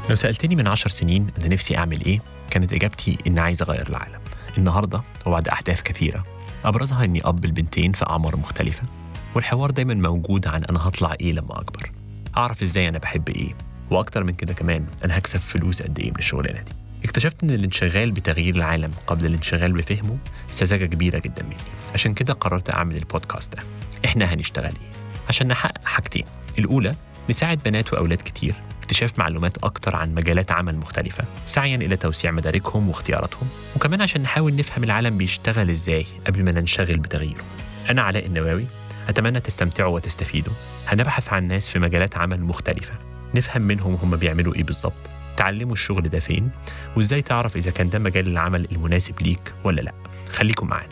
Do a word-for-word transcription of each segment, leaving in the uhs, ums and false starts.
لو سألتني من عشر سنين أنا نفسي أعمل إيه، كانت إجابتي إن عايز أغير العالم. النهاردة وبعد أحداث كثيرة أبرزها إني أب البنتين في أعمار مختلفة، والحوار دايما موجود عن أنا هطلع إيه لما أكبر، أعرف إزاي أنا بحب إيه، وأكتر من كده كمان أنا هكسب فلوس قد إيه من الشغلانة دي. اكتشفت إن الانشغال بتغيير العالم قبل الانشغال بفهمه سذاجة كبيرة جدا مني. عشان كده قررت أعمل البودكاست ده. إحنا هنشتغل إيه؟ عشان نحقق حاجتين. الأولى، نساعد بنات وأولاد كتير اكتشاف معلومات أكتر عن مجالات عمل مختلفة سعياً إلى توسيع مداركهم واختياراتهم، وكمان عشان نحاول نفهم العالم بيشتغل إزاي قبل ما ننشغل بتغييره. أنا علاء النواوي، أتمنى تستمتعوا وتستفيدوا. هنبحث عن ناس في مجالات عمل مختلفة، نفهم منهم هم بيعملوا إيه بالظبط، تعلموا الشغل ده فين، وإزاي تعرف إذا كان ده مجال العمل المناسب ليك ولا لأ. خليكم معنا.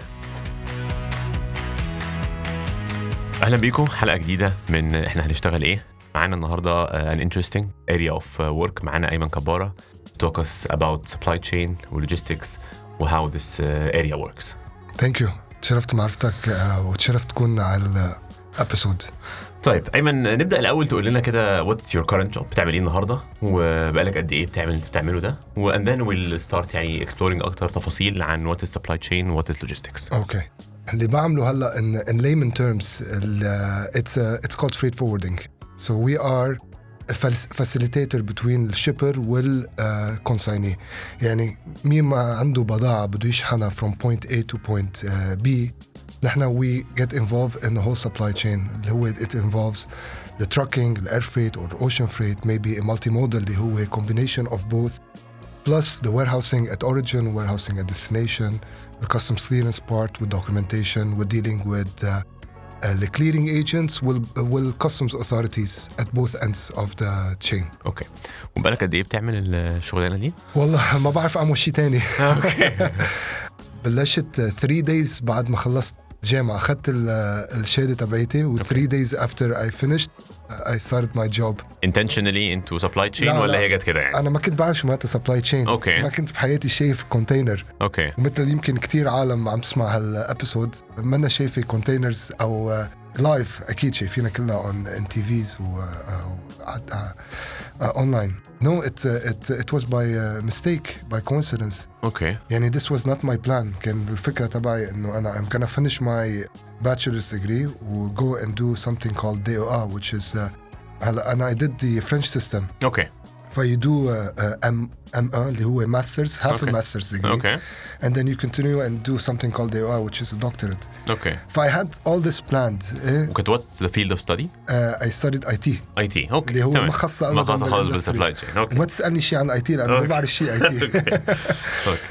أهلا بيكم حلقة جديدة من إحنا هنشتغل إيه. معانا النهاردة uh, an interesting area of uh, work. معانا أيمن كبارة to talk us about supply chain و logistics و how this uh, area works. Thank you. تشرفت معرفتك uh, وتشرفت تكون على الابيسود. طيب أيمن، نبدأ الأول تقول لنا كده what's your current job، بتعمل إيه النهاردة وبقالك قد إيه بتعمل اللي بتعمله ده، و and then we'll start يعني exploring أكتر تفاصيل عن what is supply chain و what is logistics. Okay. اللي بعمله هلا in, in layman terms uh, it's uh, it's called freight forwarding. So we are a facilitator between the shipper وال uh, consignee. يعني مين ما عنده بضاعة بده يشحنها from point A to point uh, B، نحن we get involved in the whole supply chain اللي هو it involves the trucking, the air freight or the ocean freight, maybe a multimodal اللي هو combination of both, plus the warehousing at origin, warehousing at destination, the customs clearance part with documentation, we're dealing with uh, Uh, the clearing agents will will customs authorities at both ends of the chain. اوكي. وبقالك قد ايه بتعمل الشغلانه دي؟ والله ما بعرف اعمل شيء تاني. اوكي. بلشت three days بعد ما خلصت جامعة، أخذت الشهادة تبعيتي و three days after I finished I started my job. Intentionally into supply chain لا ولا لا. هي جت كده يعني؟ أنا ما كنت بعرف شو معناتها supply chain. أوكي. ما كنت بحياتي شايف كونتينر. اوكي. ومثل يمكن كتير عالم عم تسمع هالابيسود ما أنا شايفة كونتينرز أو لايف، أكيد شايفينها كلها on إن تي فيز و online. No, it it it was by uh, mistake, by coincidence. اوكي. يعني this was not my plan. كان الفكرة تبعي إنه أنا I'm gonna finish my bachelor's degree و go and do something called D O A, which is uh, هلا أنا I did the French system. اوكي. ف you do uh, uh, M M A اللي هو masters, half Okay. a master's degree. اوكي. And then you continue and do something called D O A, which is a doctorate. اوكي. ف I had all this planned. إيه؟ وكنت what's the field of study؟ Uh, I studied I T. اي تي. اوكي. اللي هو تمام. ما خص ما خص خالص بالسبلاي تشين. اوكي. وما تسألني شيء عن I T لأنه ما أوكي. بعرف شيء I T. اوكي.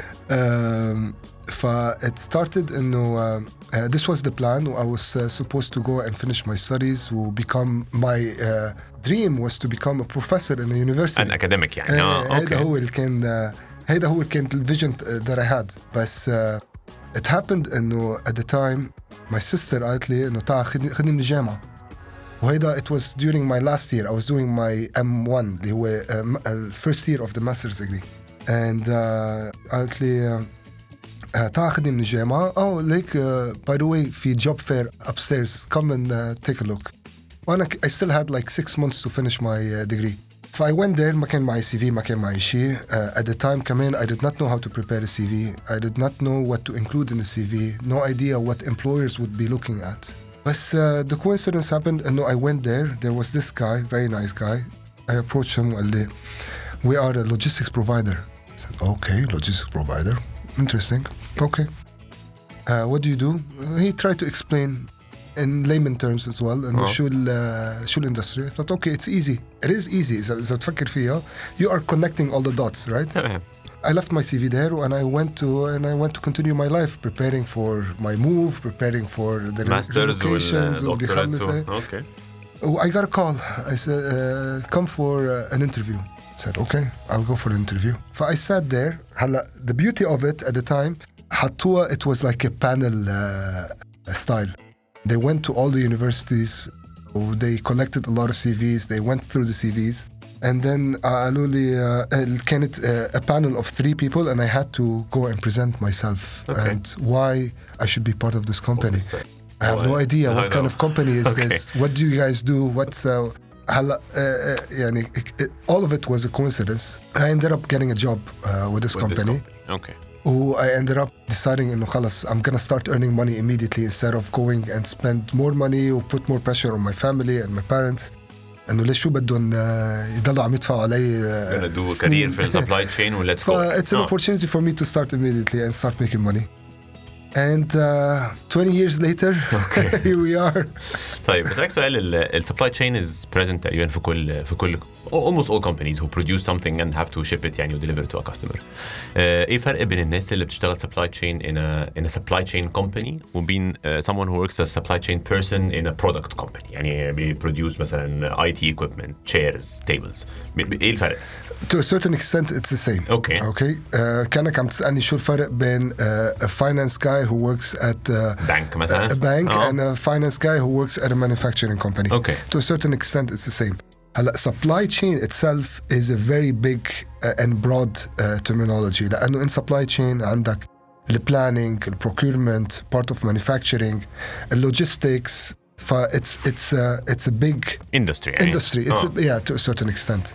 Um, ف it started إنه uh, uh, this was the plan. I was uh, supposed to go and finish my studies و become my uh, dream was to become a professor in a university. an academic يعني. اه هذا اوكي. هو اللي كان هذا هو اللي كان الفيجن that I had. بس uh, it happened إنه at the time my sister قالت لي إنه تعال خدني خدني من الجامعة. وهيدا it was during my last year. I was doing my M one اللي هو uh, first year of the master's degree. and uh, قالت لي uh, تعال خدني من الجامعة. oh like uh, by the way في job fair upstairs, come and uh, take a look. وأنا I still had like six months to finish my uh, degree. ف I went there. ما كان معي سي في، ما كان معي شيء. uh, at the time كمان I did not know how to prepare a سي في. I did not know what to include in the سي في. No idea what employers would be looking at. بس uh, the coincidence happened إنه I went there. There was this guy, very nice guy. I approached him وقال لي we are a logistics provider. I said okay, logistics provider, interesting. Okay. Uh, what do you do? He tried to explain in layman terms as well إنه Oh. شو ال شو الindustry. I thought okay, it's easy. It is easy. إذا إذا تفكر فيها you are connecting all the dots, right? تمام. I left my C V there and I went to and I went to continue my life, preparing for my move, preparing for the ماسترز relocations والدكتورات. ودي خمسة. اوكي. Oh, I got a call. I said, uh, come for uh, an interview. I said, okay, I'll go for an interview. So I sat there. هلا, the beauty of it at the time, حطوها, it was like a panel uh, style. They went to all the universities. They collected a lot of C Vs. They went through the C Vs. And then قالوا لي uh, كانت uh, a panel of three people and I had to go and present myself. Okay. And why I should be part of this company. I have Oh, no idea I what kind know. of company is Okay. this. What do you guys do? What's uh, هلا uh, يعني it, all of it was a coincidence. I ended up getting a job uh, with this With this company. company. Okay. who I ended up deciding إنه خلص I'm gonna start earning money immediately instead of going and spend more money or put more pressure on my family and my parents. إنه ليش شو بدهم يضلوا عم يدفعوا علي gonna do a career في supply chain و let's go. It's an oh. opportunity for me to start immediately and start making money. And uh, twenty years later, Okay. here we are. طيب بس سؤال ال supply chain is present تقريبا في كل في كل almost all companies who produce something and have to ship it يعني و deliver it to a customer. uh, ايه الفرق بين الناس اللي بتشتغل supply chain in a in a supply chain company وبين uh, someone who works as a supply chain person in a product company يعني بي produce مثلا I T equipment, chairs, tables. ايه الفرق؟ To a certain extent, it's the same. Okay. Okay. Uh, كأنك عم تسألني شو الفرق بين uh, a finance guy who works at uh, bank مثلا. a bank oh. and a finance guy who works at a manufacturing company. Okay. To a certain extent, it's the same. هلا supply chain itself is a very big uh, and broad uh, terminology. لأنه in supply chain عندك the planning, the procurement, part of manufacturing, the logistics. ف it's it's a, it's a big industry. industry. It's oh. a, yeah, to a certain extent.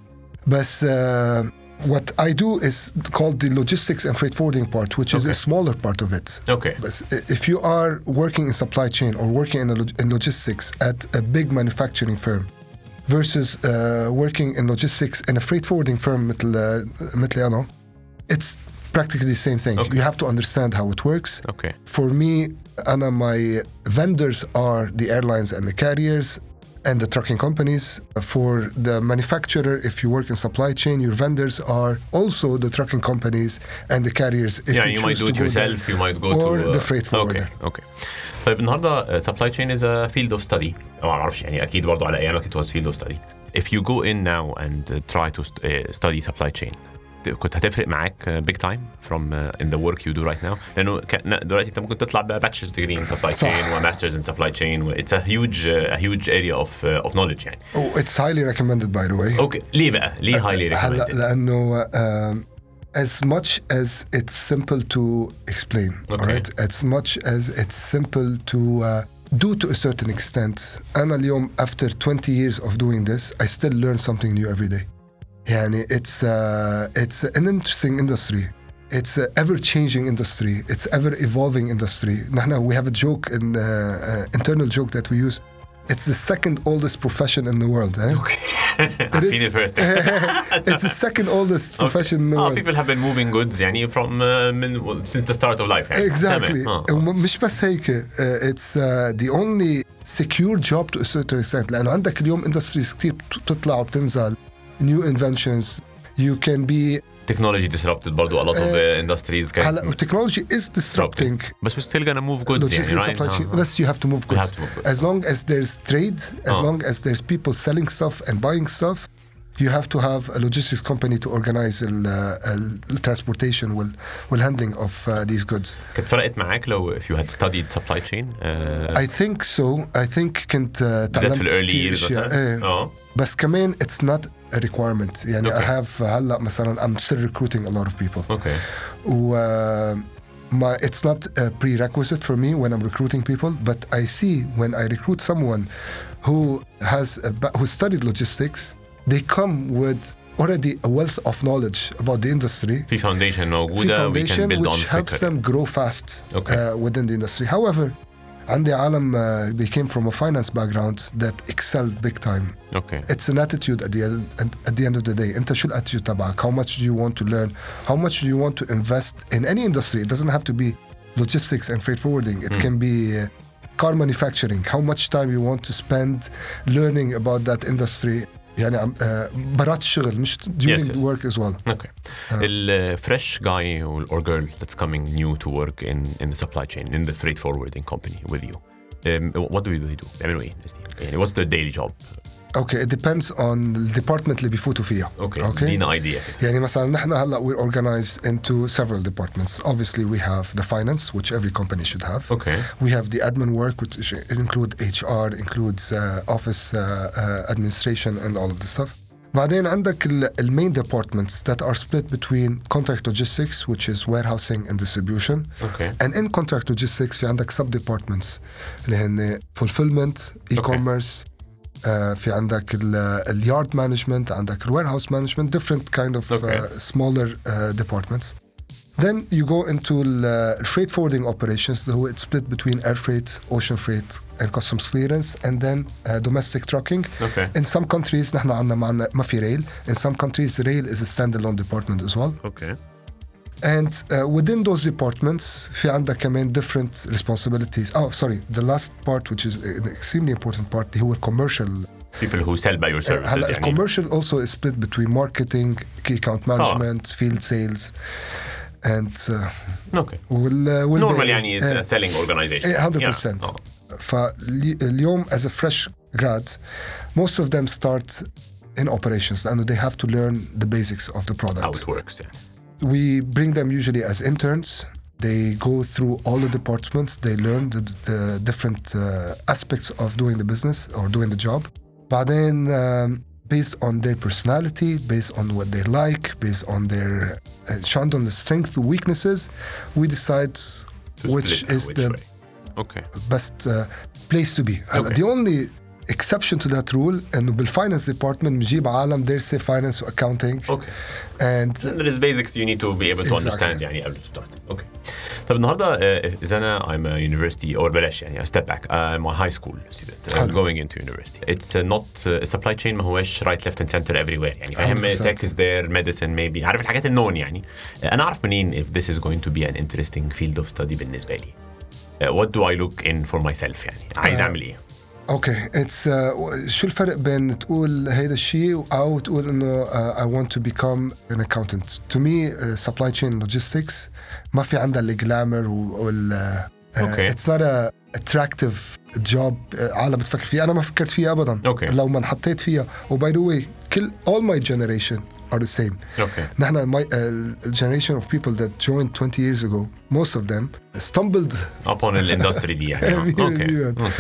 But uh, what I do is called the logistics and freight forwarding part, which is Okay. a smaller part of it. Okay. But if you are working in supply chain or working in, a log- in logistics at a big manufacturing firm versus uh, working in logistics in a freight forwarding firm مثل مثلي أنا, it's practically the same thing. Okay. You have to understand how it works. Okay. For me, أنا my vendors are the airlines and the carriers and the trucking companies. For the manufacturer, if you work in supply chain, your vendors are also the trucking companies and the carriers. If yeah, you, you choose might do to it go yourself, there. you might go or to... Uh, the freight forwarder. Okay, okay. طيب النهارده uh, supply chain is a field of study. أو ما أعرفش يعني أكيد برضو على أيامك it was field of study. If you go in now and uh, try to st- uh, study supply chain, كنت هتفرق معاك uh, big time from uh, in the work you do right now لأنه دلوقتي أنت ممكن تطلع ب bachelor's degree in supply صح. chain و masters in supply chain و it's a huge uh, a huge area of uh, of knowledge يعني. Oh, it's highly recommended, by the way. Okay. ليه بقى؟ ليه highly هلا recommended؟ لأنه um, as much as it's simple to explain, Okay. all right? As much as it's simple to uh, do to a certain extent. أنا اليوم after twenty years of doing this, I still learn something new every day. يعني it's uh, it's an interesting industry. It's an ever-changing industry. It's ever-evolving industry. نحن we have a joke, an uh, uh, internal joke that we use. It's the second oldest profession in the world. Eh? Okay. It I've is- seen it first. It's the second oldest profession in the Oh, world. people have been moving goods يعني from uh, من, well, since the start of life يعني. Exactly. تمام. آه. وم- مش بس هيك. uh, it's uh, the only secure job to a certain extent. لأنه عندك اليوم industries كتير بتطلع وبتنزل. New inventions. You can be Technology disrupted برضو a lot of uh, industries kind هلا technology is disrupting but we're still gonna move goods logistics يعني, and right? supply chain. آه. Yes, you have to move You goods. have to move goods. As long as there's trade, as آه. long as there's people selling stuff and buying stuff, you have to have a logistics company to organize ال- uh, the transportation wal والhandling of uh, these goods. كانت فرقت معاك لو if you had studied supply chain uh, I think so. I think كنت uh, بالذات تعلمت في ال early كتير years أشياء. مثلا؟ إيه. اه بس كمان it's not a requirement. يعني Okay. I have هلا مثلا I'm still recruiting a lot of people. okay و uh, my, it's not a prerequisite for me when I'm recruiting people, but I see when I recruit someone who has a, ba- who studied logistics, they come with already a wealth of knowledge about the industry. في foundation في موجودة we can foundation build which on helps quicker. them grow fast Okay. uh, within the industry. However, عندي عالم uh, they came from a finance background that excelled big time. okay It's an attitude at the end, at the end of the day. أنت شو الاتيتيود تبعك? How much do you want to learn? How much do you want to invest in any industry? It doesn't have to be logistics and freight forwarding. It can be uh, car manufacturing. How much time you want to spend learning about that industry? يعني عم- uh, برات الشغل مش during Yes, yes. work as well. okay ال fresh guy or or girl that's coming new to work in in the supply chain in the freight forwarding company with you um, what do they do بيعملوا ايه الناس دي؟ يعني what's their daily job Okay, it depends on the department اللي بيفوتوا فيها. okay Okay. ادينا idea يعني مثلا نحن هلا we're organized into several departments. Obviously we have the finance, which every company should have. okay We have the admin work, which include H R, includes uh, office uh, uh, administration and all of this stuff. بعدين عندك ال ال main departments that are split between contract logistics, which is warehousing and distribution. okay And in contract logistics في عندك sub departments اللي هن fulfillment, e-commerce, uh, في عندك ال yard management, عندك warehouse management, different kind of Okay. uh, smaller uh, departments. Then you go into the freight forwarding operations, اللي هو it's split between air freight, ocean freight and customs clearance, and then uh, domestic trucking. Okay. In some countries نحن عندنا معنا ما في rail. In some countries rail is a standalone department as well. Okay. And uh, within those departments في عندك كمان different responsibilities. Oh, sorry. The last part, which is an extremely important part, هو commercial. People who sell by your services. هلا يعني. commercial also is split between marketing, key account management, oh. field sales, and uh, Okay. وال, وال Normal يعني is a selling organization. one hundred percent. Yeah. Oh. فاليوم as a fresh grad, most of them start in operations and they have to learn the basics of the product. How it works. Yeah. We bring them usually as interns. They go through all the departments. They learn the, the different uh, aspects of doing the business or doing the job. بعدين um, based on their personality, based on what they like, based on their uh, on the strengths and weaknesses, we decide To which split is which the way. Okay. best uh, place to be. Okay. The only exception to that rule إنه بالfinance department بنجيب عالم درسي finance و accounting. Okay. And There is basics you need to be able to Exactly. understand يعني قبل to start. Okay. طب النهارده uh, إذا أنا I'm a university or بلاش يعني I step back I'm a high school student I'm حلو. going into university. It's uh, not uh, supply chain ما هوش right left and center everywhere يعني فاهم one hundred percent. tech is there medicine maybe عارف الحاجات النون يعني uh, أنا أعرف منين if this is going to be an interesting field of study بالنسبة لي. Uh, what do I look in for myself يعني عايز أعمل إيه؟ اوكي اتس شو الفرق بين تقول هيدا الشيء او تقول انه uh, I want to become an accountant. To me uh, supply chain logistics ما في عندها الجلامر وال uh, Okay. it's not a attractive job uh, عالم بتفكر فيها. انا ما فكرت فيها ابدا. Okay. لو ما انحطيت فيها. وباي ذا واي كل all my generation are the same. Okay. نحن my uh, generation of people that joined twenty years ago, most of them stumbled. upon الindustry دي يعني. Okay. Okay.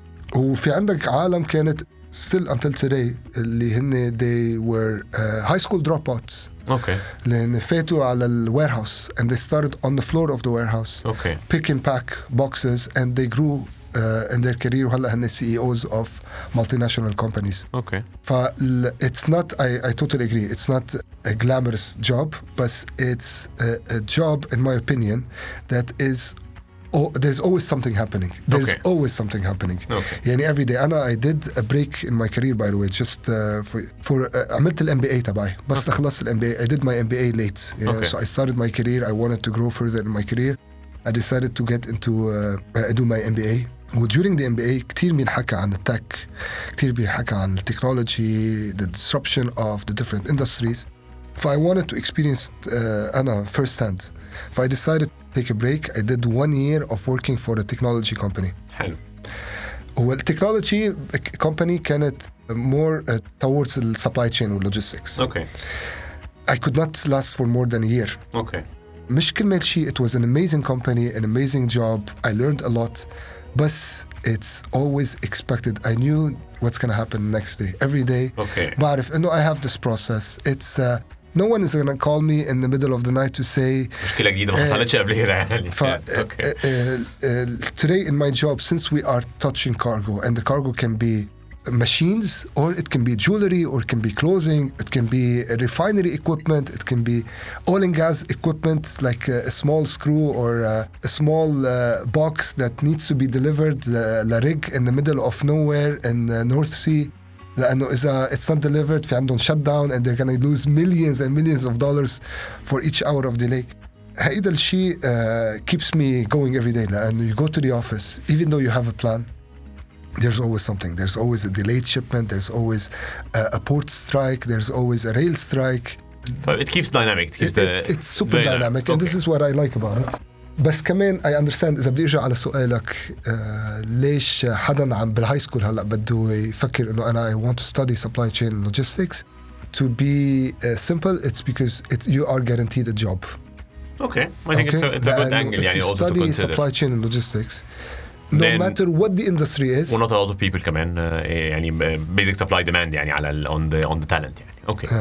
وفي عندك عالم كانت still until today اللي هن they were uh, high school dropouts. Okay. لأن فاتوا على ال warehouse and they started on the floor of the warehouse. Okay. Pick and pack boxes and they grew uh, in their career وهلا هن C E Os of multinational companies. Okay. ف it's not I, I totally agree it's not a glamorous job but it's a, a job in my opinion that is Oh, there's always something happening. There's Okay. always something happening. Okay. يعني every day. أنا I did a break in my career by the way just uh, for, for uh, عملت ال M B A تبعي بس Okay. خلصت ال M B A. I did my M B A late. Yeah, Okay. So I started my career. I wanted to grow further in my career. I decided to get into uh, I do my M B A. و during the M B A كتير بينحكى عن التك كتير بينحكى عن التكنولوجي the disruption of the different industries. ف I wanted to experience uh, أنا first hand. ف I decided to take a break. I did one year of working for a technology company. حلو. والتكنولوجي company كانت more uh, towards the supply chain and logistics. Okay. I could not last for more than a year. Okay. مش كرمال شيء it was an amazing company, an amazing job. I learned a lot. But it's always expected. I knew what's going to happen next day. Every day. Okay. بعرف إنه I have this process. It's uh, no one is going to call me in the middle of the night to say مشكلة جديدة ما حصلتش قبل كده يعني. ف, Yeah. Okay. uh, uh, uh, today in my job, since we are touching cargo, and the cargo can be machines, or it can be jewelry, or it can be clothing, it can be refinery equipment, it can be oil and gas equipment, like a, a small screw or a, a small uh, box that needs to be delivered, uh, la rig in the middle of nowhere in the North Sea. لأنه إذا it's not delivered في عندهم shutdown and they're gonna lose millions and millions of dollars for each hour of delay. هيدا الشيء uh, keeps me going every day. لأنه you go to the office even though you have a plan, there's always something. There's always a delayed shipment. There's always a, a port strike. There's always a rail strike. So it keeps dynamic. It keeps It, the it's, it's super very dynamic and Okay. this is what I like about it. بس كمان I understand إذا بدي أرجع على سؤالك آه ليش حدا عم بالهاي سكول هلأ بده يفكر إنه أنا I want to study supply chain and logistics. To be uh, simple, it's because it's, you are guaranteed a job. Okay. I think it's a, it's a good لأنه angle if يعني you also to study consider. supply chain and logistics, no Then- matter what the industry is, Well, not a lot of people كمان uh, يعني basic supply demand يعني على ال- on the on the talent يعني. Okay. آه.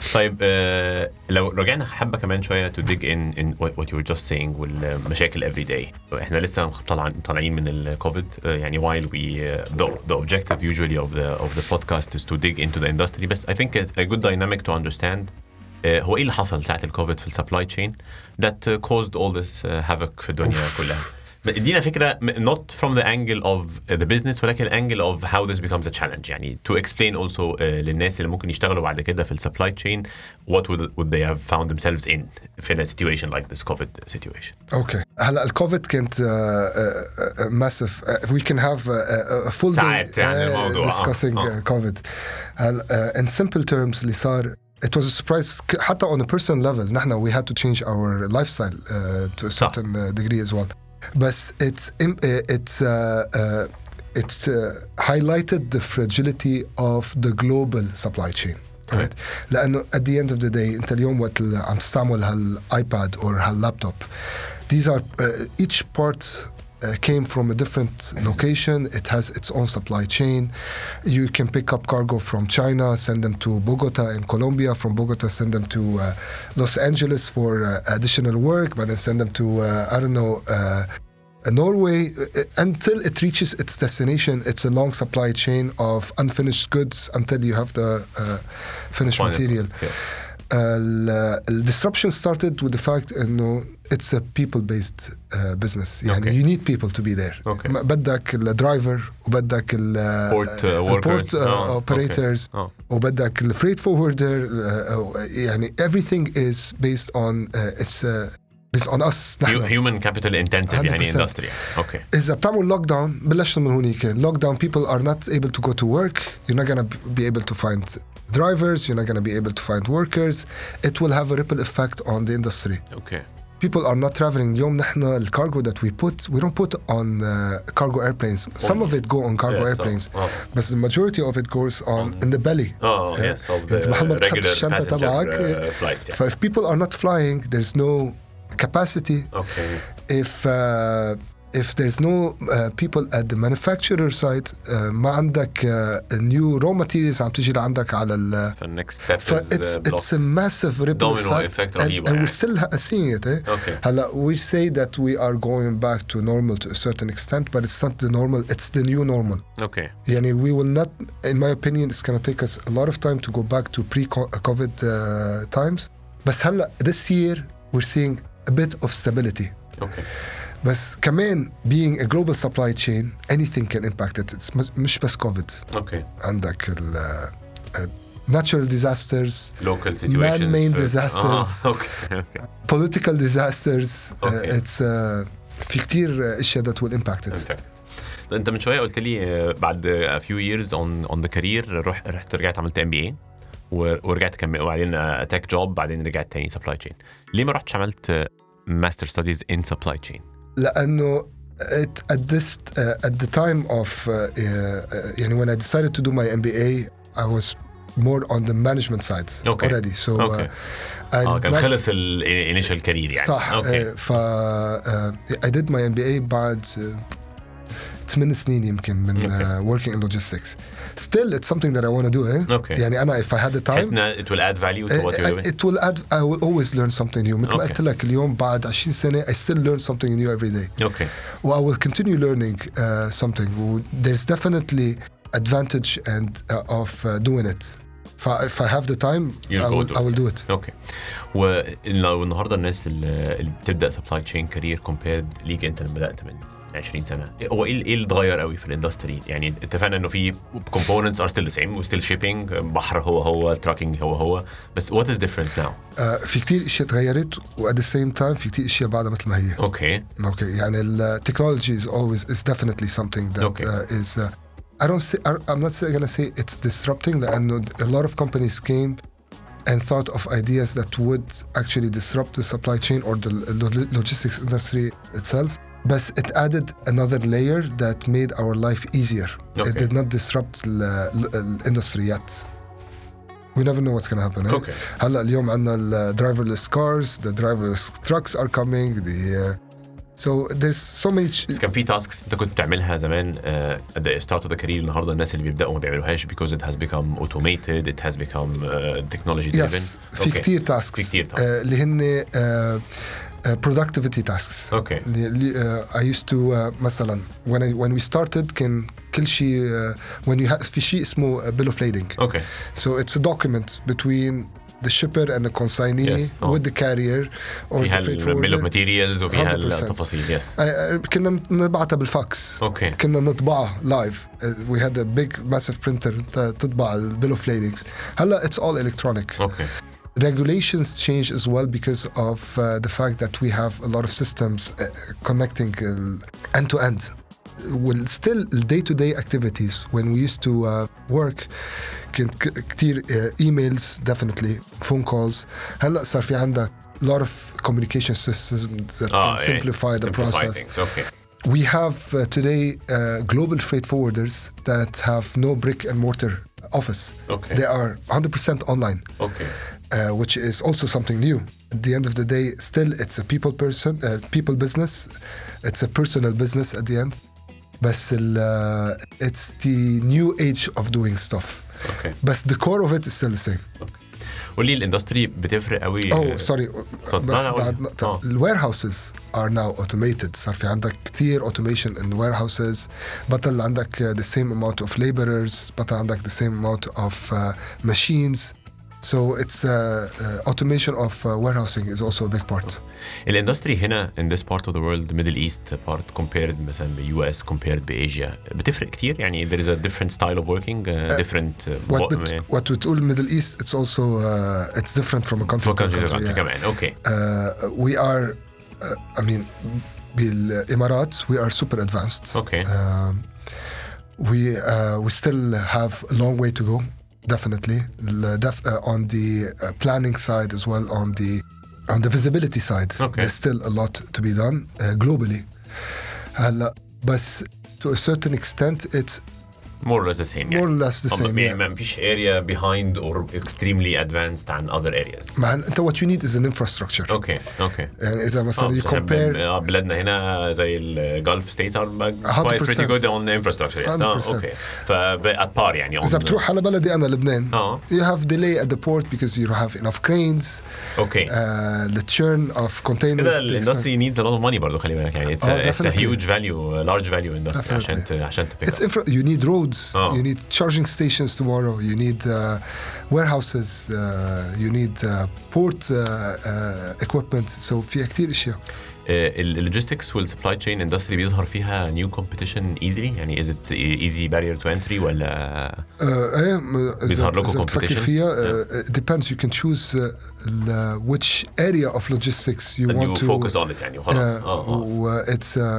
طيب آه لو رجعنا حبة كمان شوية to dig in in what, what you were just saying والمشاكل every day. احنا لسه طالعين طالعين من الكوفيد uh, يعني while we uh, the, the objective usually of the of the podcast is to dig into the industry. بس I think a, a good dynamic to understand uh, هو ايه اللي حصل ساعة الكوفيد في السبلاي تشين that uh, caused all this uh, havoc في الدنيا كلها. ادينا فكرة not from the angle of the business ولكن angle of how this becomes a challenge. يعني to explain also uh, للناس اللي ممكن يشتغلوا بعد كده في ال supply chain what would, would they have found themselves in في a situation like this COVID situation. Okay. هلا الكوفيد كانت uh, uh, uh, massive. Uh, we can have a, a full day uh, discussing uh, COVID. هلا uh, in simple terms اللي صار it was a surprise حتى on a personal level. نحن we had to change our lifestyle uh, to a certain uh, degree as well. But it's it's uh, uh, it's uh, highlighted the fragility of the global supply chain. Right? لأنه at the end of the day أنت اليوم وقت عم تستعمل هالآيباد or هاللابتوب these are uh, each part Uh, came from a different location. It has its own supply chain. You can pick up cargo from China, send them to Bogota in Colombia. From Bogota, send them to uh, Los Angeles for uh, additional work, but then send them to, uh, I don't know, uh, Norway. Uh, until it reaches its destination, it's a long supply chain of unfinished goods until you have the uh, finished Fine. material. Okay. Uh, the disruption started with the fact that it's a people-based uh, business. يعني okay. you need people to be there. Okay. بدك الدرايفر وبدك ال port uh, port uh, oh, operators okay. oh. وبدك ال freight forwarder. Uh, يعني everything is based on uh, it's uh, based on us. Human capital intensive يعني industry. Okay. إذا بتعمل lock down بلشنا من هونيك. Lock down people are not able to go to work. You're not gonna be able to find drivers. You're not gonna be able to find workers. It will have a ripple effect on the industry. Okay. People are not traveling. اليوم نحن الكارغو that we put we don't put on uh, cargo airplanes. Some of it go on cargo yes, airplanes, so, oh. but the majority of it goes on um, in the belly. Oh uh, yes, of the regular passenger uh, flights. Yeah. So if people are not flying, there's no capacity. Okay. If uh, if there's no uh, people at the manufacturer side, uh, ما عندك uh, new raw materials عم تيجي لعندك على ال. The next step is it's uh, it's a massive ripple Domino effect, effect and, and we're still seeing it. Eh? Okay. هلا we say that we are going back to normal to a certain extent, but it's not the normal. It's the new normal. Okay. يعني we will not, in my opinion, it's going to take us a lot of time to go back to pre-COVID uh, times. بس هلا this year we're seeing a bit of stability. Okay. بس كمان being a global supply chain, anything can impact it. It's مش بس COVID. Okay. عندك ال uh, natural disasters, local situations, man-made disasters, oh, okay. Okay. political disasters. Okay. Uh, it's uh, في كتير اشياء that will impact it. Okay. انت من شويه قلت لي بعد a few years on on the career رحت رحت رجعت عملت إم بي إيه ورجعت كمل وبعدين تك جوب بعدين رجعت تاني supply chain. ليه ما رحتش عملت master studies in supply chain؟ لأنه it, at this uh, at the time of uh, uh, يعني when I decided to do my M B A I was more on the management side okay. already so okay. uh, I oh, كان not... خلص ال initial career يعني صح okay. uh, ف uh, I did my M B A بعد uh, ثمان سنين يمكن من okay. uh, working in logistics. Still, it's something that I want to do. Eh? Okay. يعني أنا if I had the time, it will add value to what uh, you're doing. It will add. I will always learn something new. مثل ما قلت لك اليوم بعد عشرين سنة, I still learn something new every day. Okay. Well, I will continue learning uh, something. There's definitely advantage and uh, of uh, doing it. If I have the time, I will, I will do it. Okay. ولو النهارده الناس اللي بتبدأ supply chain career compared ليك أنت اللي بدأت من عشرين سنة هو ايه ايه اللي اتغير قوي في الاندستري؟ يعني اتفقنا انه في components are still the same و still shipping بحر هو هو trucking هو هو بس what is different now؟ uh, في كتير اشياء تغيرت و at the same time في كتير اشياء بعدها مثل ما هي. اوكي اوكي يعني ال technology is always is definitely something that okay. uh, is uh, I don't say I'm not gonna say it's disrupting لأنه a lot of companies came and thought of ideas that would actually disrupt the supply chain or the logistics industry itself. But it added another layer that made our life easier. Okay. It did not disrupt the industry yet. We never know what's going to happen. Okay. هلا اليوم عندنا ال driverless cars, the driverless trucks are coming, the uh, So there's so many ch- بس كان في تاسكس انت كنت بتعملها زمان uh, at the start of the career النهارده الناس اللي بيبداوا ما بيعملوهاش because it has become automated, it has become uh, technology driven. yes في كتير tasks في كتير tasks. uh, اللي هن uh, Uh, productivity tasks. Okay. Uh, I used to uh, مثلا when I when we started كان كل شيء uh, when you have في شيء اسمه uh, bill of lading. Okay. So it's a document between the shipper and the consignee yes. oh. with the carrier or فيها the freight ال bill of forwarder. materials وفيها one hundred percent. التفاصيل. Yes. Uh, كنا نبعتها بالفاكس. Okay. كنا نطبعها live. Uh, we had a big massive printer تطبع ال bill of ladings. هلا it's all electronic. Okay. Regulations change as well because of uh, the fact that we have a lot of systems uh, connecting uh, end to end. Well, still day-to-day activities when we used to uh, work كنت كتير uh, emails definitely phone calls هلا صار في عندك a lot of communication systems that oh, can simplify yeah. the simplify process. Things. Okay. We have uh, today uh, global freight forwarders that have no brick and mortar office. Okay. They are one hundred percent online. Okay. Uh, which is also something new. At the end of the day, still it's a people person, uh, people business. It's a personal business at the end. But uh, it's the new age of doing stuff. Okay. But the core of it is still the same. Okay. قولي الاندستري بتفرق قوي. Oh, sorry. بس بعد نقطة. oh. The warehouses are now automated. صار في عندك كتير automation in the warehouses. بطل عندك uh, the same amount of laborers. بطل عندك the same amount of uh, machines. So it's uh, uh, automation of uh, warehousing is also a big part. الاندستري هنا in this part of the world, the Middle East part compared مثلا ب U S compared ب Asia بتفرق كتير يعني there is a different style of working, uh, different. Uh, what بت, what we call Middle East, it's also uh, it's different from a country to country. country yeah. كمان. Okay. Uh, we are, uh, I mean, بالإمارات we are super advanced. Okay. Um, we uh, we still have a long way to go. Definitely, Def- uh, on the uh, planning side as well, on the on the visibility side, okay. there's still a lot to be done uh, globally. Uh, but to a certain extent, it's more or less the same. More yeah. or less the same. Yeah. ما فيش area behind or extremely advanced than other areas. Man, what you need is an infrastructure. Okay, okay. And إذا مثلا you compare. بلادنا هنا زي ال Gulf states are quite pretty good on the infrastructure. Yes. Oh, okay. ف at par يعني. إذا بتروح على بلدي أنا لبنان. Oh. You have delay at the port because you don't have enough cranes. Okay. Uh, the churn of containers. The industry needs a lot of money برضو خلي بالك يعني. It's, oh, a, it's a huge value, large value industry عشان عشان تبيع. It's infra. You need roads. Oh. You need charging stations tomorrow. You need uh, warehouses. Uh, you need uh, port uh, uh, equipment. So في كتير أشياء. اللوجيستكس والسبلاي تشين اندستري بيظهر فيها نيو كومبيتيشن ايزلي يعني از ات ايزي بارير تو انتري ولا ايه بيظهر لكم كومبيتيشن بتفكر فيها depends you can choose uh, which area of logistics you and want you to focus on it يعني وخلاص اه it's uh,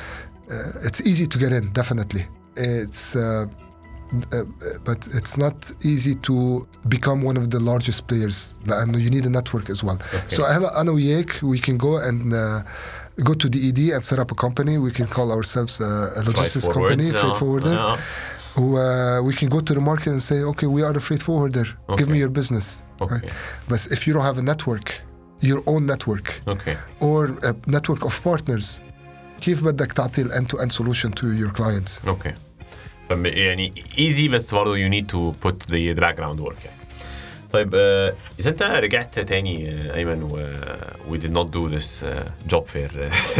uh, it's easy to get in definitely it's uh, Uh, but it's not easy to become one of the largest players لأنه you need a network as well. Okay. So هلا أنا وياك we can go and uh, go to D E D and set up a company. We can call ourselves a, a logistics freight company, forward, freight forwarder. Yeah. Uh, we can go to the market and say, okay, we are a freight forwarder. Okay. Give me your business. Okay. Right? But if you don't have a network, your own network, okay. or a network of partners, كيف بدك تعطي ال end-to-end solution to your clients? Okay. يعني easy بس برضه you need to put the, the background work يعني. طيب uh, إذا أنت رجعت تاني uh, أيمن و we did not do this uh, job fair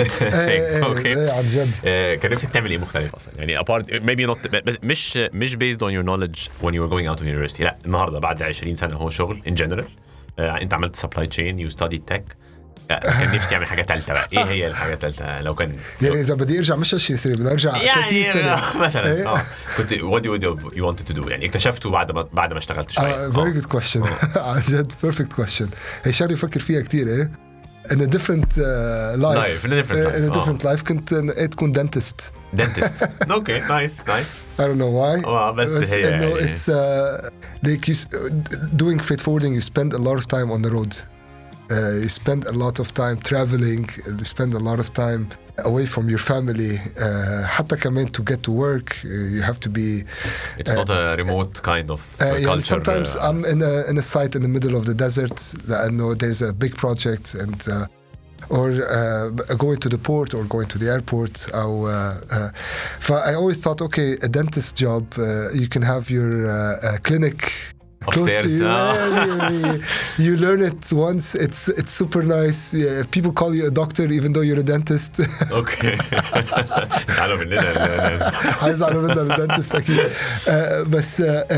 ايه ايه عن جد كان نفسك تعمل إيه مختلف أصلا يعني apart maybe not بس مش مش based on your knowledge when you were going out of university لا النهاردة بعد عشرين سنة هو شغل in general uh, أنت عملت supply chain you studied tech كان نفسي اعمل حاجه ثالثه بقى ايه هي الحاجه الثالثه لو كان يعني اذا بدي ارجع مش عشرين سنه بدي ارجع ثلاثين سنه مثلا اه كنت what do you want to do يعني اكتشفته بعد ما بعد ما اشتغلت شويه uh, very good question عن جد perfect question هي شغله بفكر فيها كثير ايه in a different uh, life life in a different life in a different life كنت تكون dentist dentist okay nice nice I don't know why oh, بس هي انه it's uh, like you doing freight forwarding you spend a lot of time on the road Uh, you spend a lot of time traveling, you spend a lot of time away from your family. Uh, حتى كمان to get to work, uh, you have to be. It's uh, not a remote kind of uh, uh, culture. Yeah, sometimes uh, I'm in a in a site in the middle of the desert. لأنه there's a big project and uh, or uh, going to the port or going to the airport. أو, uh, uh, so I always thought, okay, a dentist job, uh, you can have your uh, uh, clinic close to you. you. You learn it once. It's it's super nice. Yeah, people call you a doctor even though you're a dentist. Okay. زعلوا مننا. هيزعلوا مننا الدنتست أكيد. بس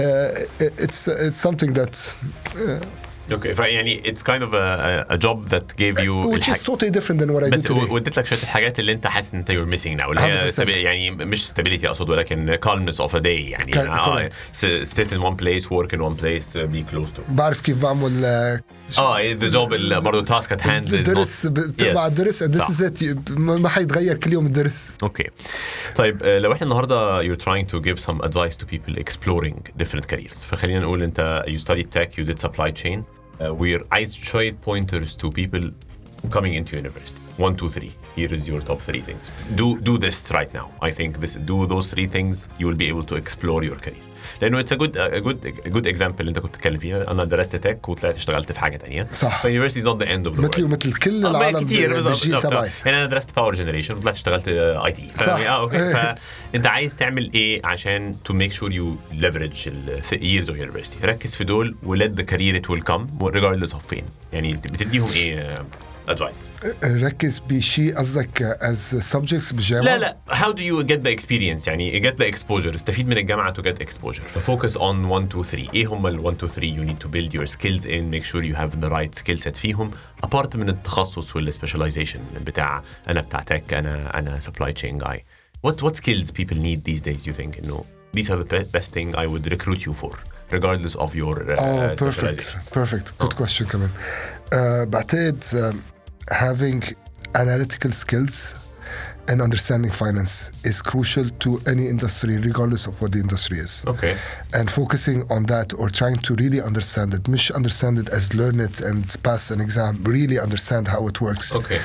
it's it's something that. Uh, Okay, يعني it's kind of a, a job that gave you which is totally different than what I do today. بس وديت لك شوية الحاجات اللي أنت حاسس إن أنت you're missing now. اللي هي يعني مش stability أقصد ولكن calmness of a day يعني. Correct. Sit in one place, work in one place, be close to. بعرف كيف بعمل. آه the job اللي برضو task at hand is not. الدرس بتبع الدرس and this is it. ما حيتغير كل يوم الدرس. Okay. طيب لو إحنا النهاردة you're trying to give some advice to people exploring different careers. فخلينا نقول أنت you studied tech, you did supply chain. Uh, we're عايز شوية pointers to people coming into university. One, two, three. Here is your top three things. Do do this right now. I think this. Do those three things. You will be able to explore your career. لأنه it's a good a good a good example اللي أنت كنت تتكلم فيها. أنا درست تك وطلعت اشتغلت في حاجة تانية. صح. So university is not the end of the world. مثلي ومثل كل العالم بالجيل تبعي. يعني أنا درست power generation وطلعت اشتغلت اي تي. صح. آه أوكي. فأنت عايز تعمل إيه عشان to make sure you leverage the years of university. ركز في دول و let the career it will come regardless of فين. يعني بتديهم إيه advice. ركز بشيء قصدك as subjects بالجامعة؟ لا لا how do you get the experience يعني get the exposure استفيد من الجامعة to get exposure focus on one two three إيه هم ال one two three you need to build your skills in make sure you have the right skill set فيهم apart من التخصص وال specialization بتاع أنا بتاع tech أنا أنا supply chain guy what what skills people need these days you think you know these are the best thing I would recruit you for regardless of your uh, oh perfect perfect good oh. question كمان uh, بعتقد uh, having analytical skills and understanding finance is crucial to any industry regardless of what the industry is. Okay. And focusing on that or trying to really understand it, مش understand it as learn it and pass an exam, really understand how it works. Okay.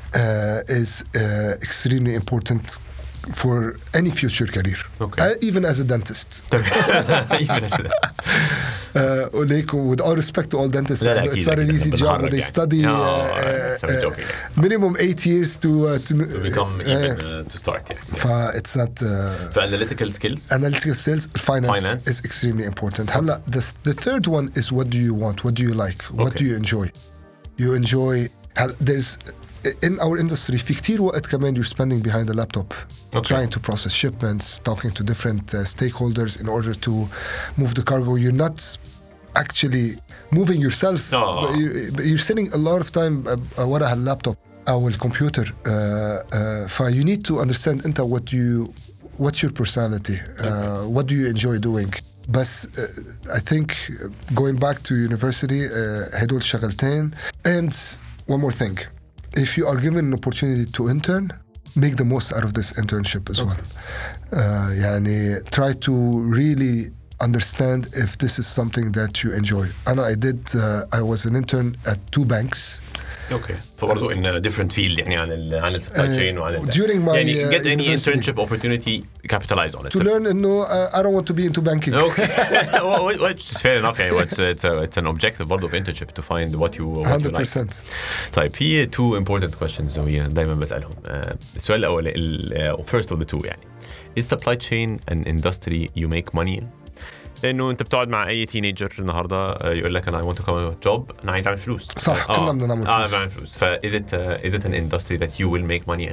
Uh, is uh, extremely important for any future career. Okay. Uh, even as a dentist. even as a Uh, like, with all respect to all dentists, لا, لا, it's not an easy job. They يعني. study no, uh, uh, joking, uh, minimum eight years to uh, to, to become uh, even uh, to start. Yeah. Yes. Yes. It's not. Uh, For analytical skills. Analytical skills, finance, finance is extremely important. هلا the the third one is what do you want? What do you like? What okay. do you enjoy? You enjoy. There's in our industry في كتير وقت كمان you're spending behind a laptop okay. trying to process shipments, talking to different uh, stakeholders in order to move the cargo. You're not actually moving yourself. No. But you're spending a lot of time uh, ورا هاللابتوب أو الكمبيوتر. Uh, uh, ف you need to understand أنت what you what's your personality. Uh, okay. What do you enjoy doing? بس uh, I think going back to university uh, هدول شغلتين. And one more thing. If you are given an opportunity to intern, make the most out of this internship as okay. well. Uh, يعني try to really understand if this is something that you enjoy. And I did, uh, I was an intern at two banks. Okay. فبرضه in a different field يعني عن ال عن ال supply chain وعن ال during my يعني get uh, any internship opportunity capitalize on it. To learn إنه uh, I don't want to be into banking. Okay. Which is fair enough يعني it's it's a, it's an objective برضه of internship to find what you what one hundred percent. you like. طيب في two important questions وهي دايما بسألهم. Uh, السؤال الأول ال uh, first of the two يعني is supply chain an industry you make money in؟ لانه انت بتقعد مع اي تينيجر النهارده يقول لك انا I want to come to job انا عايز اعمل فلوس صح كلنا بدنا نعمل فلوس اه بعمل فلوس ف is it uh, is it an industry that you will make money in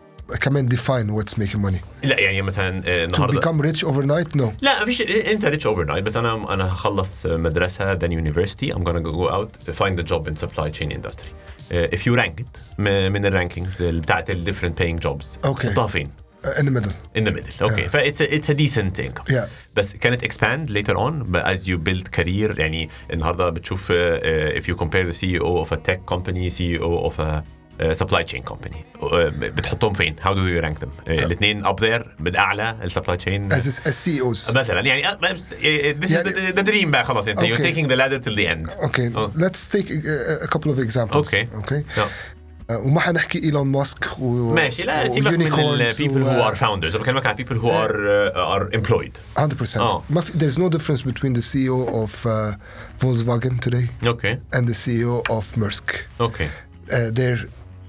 كمان define what's making money لا يعني مثلا النهارده to become rich overnight no لا مفيش انسى rich overnight بس انا انا هخلص مدرسه then university I'm gonna go out find a job in supply chain industry uh, if you rank it من الرانكينجز بتاعت ال different paying jobs اوكي تحطها فين in the middle in the middle okay yeah. فit's a, it's a decent income yeah. بس can it expand later on but as you build career يعني النهارده بتشوف uh, if you compare the C E O of a tech company C E O of a uh, supply chain company uh, بتحطهم فين how do you rank them uh, الاثنين up there بالأعلى ال supply chain as, as C E Os مثلا يعني uh, this yeah. is the, the dream بقى خلاص انت okay. you're taking the ladder till the end okay oh. let's take a, a couple of examples okay okay no. وما حنحكي إيلون ماسك و ماشي لا سيبك من ال people who are founders أنا بكلمك عن people who are uh, are employed one hundred percent oh. ما في there's no difference between the C E O of uh, Volkswagen today okay and the C E O of Maersk okay uh, they're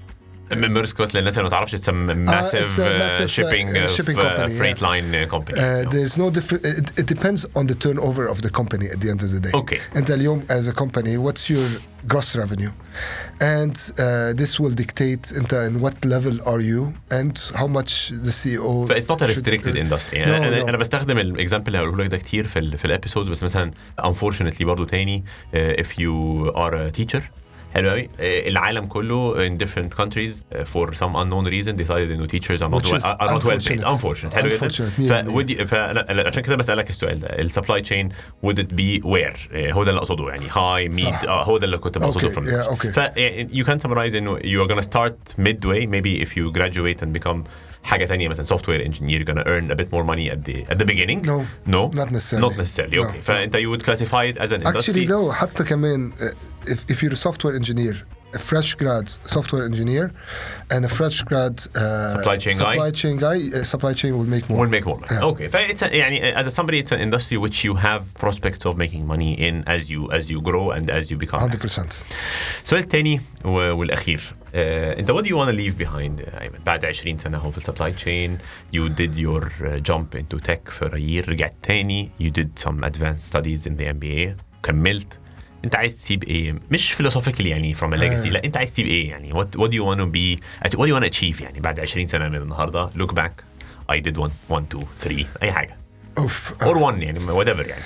ميرسك بس للناس اللي ما تعرفش it's a massive, it's a massive uh, shipping, uh, shipping uh, company, freight yeah. line uh, company. Uh, no. there's no different. It, it depends on the turnover of the company at the end of the day. Okay. أنت اليوم as a company, what's your gross revenue? And uh, this will dictate أنت in what level are you and how much the C E O. But it's not a restricted should, industry. no, أنا, no. أنا بستخدم الإكزامبل اللي هقوله لك ده كتير في ال في الابيسودز بس مثلا unfortunately برضو تاني uh, if you are a teacher حلو قوي العالم كله in different countries uh, for some unknown reason decided انه teachers are not well, are not well paid unfortunate حلو جدا فودي فانا عشان كده بسالك السؤال ده السبلاي تشين would it be where uh, هو ده اللي اقصده يعني high mid اه هو ده اللي كنت بقصده okay, from yeah, okay. ف you can summarize انه you are gonna start midway maybe if you graduate and become حاجة تانية مثلا software engineer you're gonna earn a bit more money at the at the beginning no no not necessarily not necessarily no, okay no. فأنت you would classify it as an industry actually no حتى كمان uh, if, if you're a software engineer a fresh grad software engineer and a fresh grad uh, supply chain supply guy chain guy uh, supply chain will make more will make more money yeah. okay فإتس يعني as a somebody it's an industry which you have prospects of making money in as you as you grow and as you become one hundred percent السؤال الثاني والأخير Uh, انت what do you want to leave behind uh, أيمن بعد عشرين سنة هو في السبلاي تشين you did your uh, jump into tech for a year رجعت تاني you did some advanced studies in the M B A كملت انت عايز تسيب ايه مش philosophically يعني from a legacy uh. لا انت عايز تسيب ايه يعني what what do you want to be what do you want to achieve يعني بعد عشرين سنة من النهاردة look back I did one one two three أي حاجة اوف or one يعني whatever يعني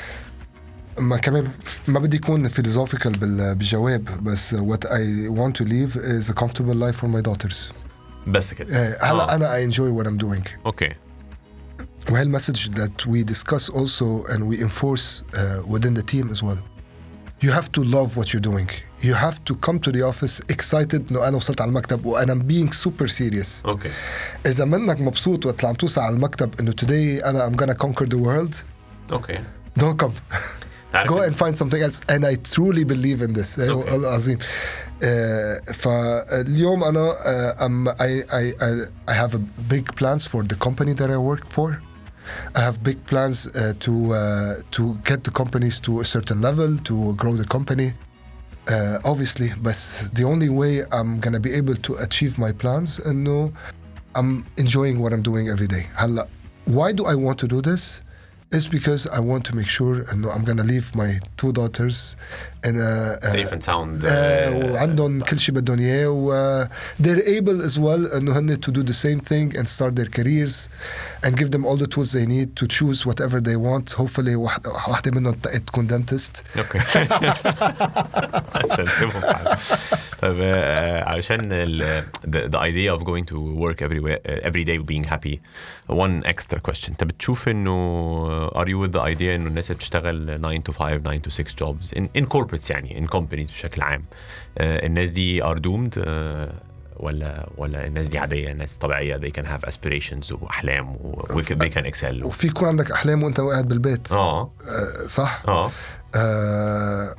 ما كمان ما بدي يكون philosophical بالجواب بس what I want to leave is a comfortable life for my daughters بس كده هلا آه. أنا I enjoy what I'm doing okay وهالمسج that we discuss also and we enforce uh, within the team as well you have to love what you're doing you have to come to the office excited إنه أنا وصلت على المكتب وأنا being super serious okay إذا منك مبسوط وطلع عم توصل على المكتب إنه today أنا I'm gonna conquer the world okay don't come go and find something else and I truly believe in this okay. عظيم uh, فاليوم أنا uh, um, I, I, I, I have a big plans for the company that I work for I have big plans uh, to uh, to get the companies to a certain level to grow the company uh, obviously but the only way I'm gonna be able to achieve my plans and no I'm enjoying what I'm doing every day هلا why do I want to do this is because I want to make sure انه I'm gonna leave my two daughters in a, a safe and sound uh, وعندهم كل شيء بدهم اياه و they're able as well انه هن to do the same thing and start their careers and give them all the tools they need to choose whatever they want hopefully واحدة واحدة منهم تكون dentist اوكي عشان تفهم طيب عشان the, the idea of going to work every every day being happy one extra question انت بتشوف انه are you with the idea انه الناس بتشتغل nine to five nine to six jobs in in corporates يعني in companies بشكل عام uh, الناس دي are doomed uh, ولا ولا الناس دي عادية ناس طبيعية they can have aspirations وأحلام و they can excel وفي يكون عندك أحلام وأنت قاعد بالبيت اه uh, صح اه uh,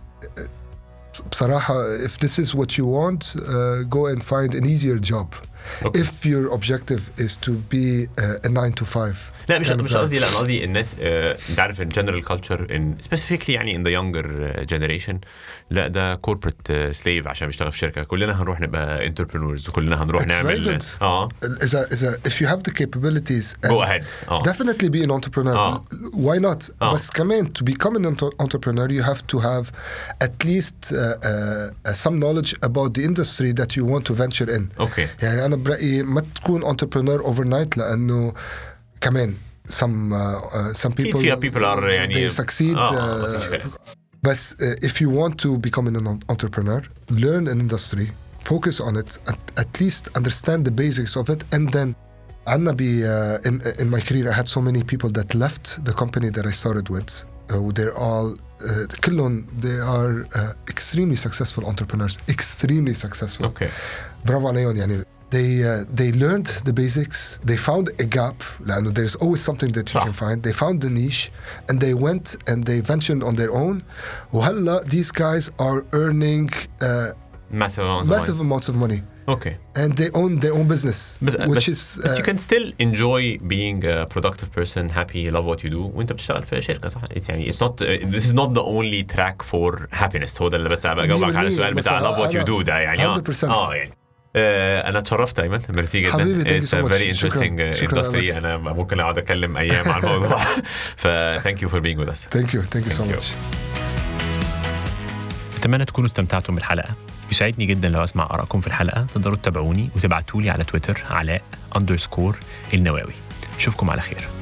بصراحة if this is what you want uh, go and find an easier job okay. if your objective is to be uh, a nine to five لا مش مش قصدي لا قصدي الناس انت عارف in general culture in specifically يعني in the younger generation لا ده corporate slave عشان بيشتغل في شركة كلنا هنروح نبقى entrepreneurs وكلنا هنروح It's نعمل اه إذا إذا if you have the capabilities go ahead oh. definitely be an entrepreneur oh. why not oh. بس كمان to become an entrepreneur you have to have at least uh, uh, some knowledge about the industry that you want to venture in okay. يعني أنا برأيي ما تكون entrepreneur overnight لأنه كمان some uh, uh, some people people are يعني they succeed آه. uh, بس uh, if you want to become an entrepreneur learn an industry focus on it at, at least understand the basics of it and then عنا be uh, in in my career I had so many people that left the company that I started with uh, they're all uh, كلهم they are uh, extremely successful entrepreneurs extremely successful okay. برافو عليهم يعني They uh, they learned the basics. They found a gap. لأنه there's always something that you صح. can find. They found the niche, and they went and they ventured on their own. وهلا these guys are earning uh, massive amounts massive of amounts of money. Okay. And they own their own business, بس, which بس, is. Uh, بس you can still enjoy being a productive person, happy, love what you do. وأنت بتشتغل في شركة صح؟ It's يعني it's not uh, this is not the only track for happiness. هو ده اللي بس أبغى أجاوبك على السؤال بتاع love what you do ده يعني one hundred percent آه يعني. آه، انا اتشرفت ايمن، ميرسي جدا. حبيبي thank you It's so a much. very شكراً. interesting شكراً industry. لك. انا ممكن اقعد اتكلم ايام عن الموضوع. ف thank you for being with us. thank you thank you so Thank you. much. اتمنى تكونوا استمتعتم بالحلقه. يسعدني جدا لو اسمع ارائكم في الحلقه. تقدروا تتابعوني وتبعتوا لي على تويتر علاء اندرسكور النواوي. اشوفكم على خير.